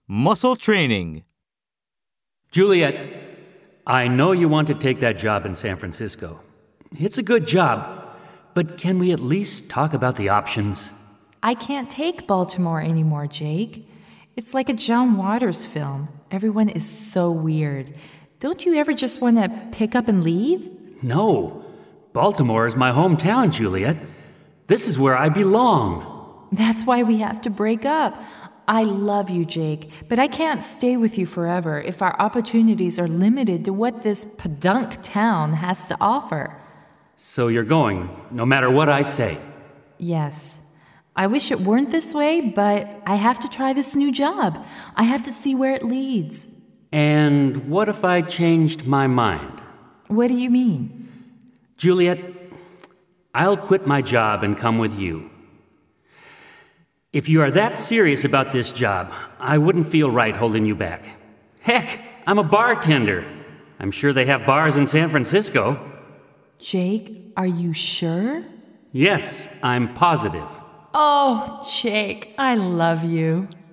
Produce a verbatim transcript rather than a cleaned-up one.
Muscle training. Juliet, I know you want to take that job in San Francisco. It's a good job, but can we at least talk about the options? I can't take Baltimore anymore, Jake. It's like a John Waters film. Everyone is so weird. Don't you ever just want to pick up and leave? No. Baltimore is my hometown, Juliet. This is where I belong. That's why we have to break up. I love you, Jake, but I can't stay with you forever if our opportunities are limited to what this podunk town has to offer. So you're going, no matter what I say? Yes. I wish it weren't this way, but I have to try this new job. I have to see where it leads. And what if I changed my mind? What do you mean? Juliet, I'll quit my job and come with you. If you are that serious about this job, I wouldn't feel right holding you back. Heck, I'm a bartender. I'm sure they have bars in San Francisco. Jake, are you sure? Yes, I'm positive. Oh, Jake, I love you.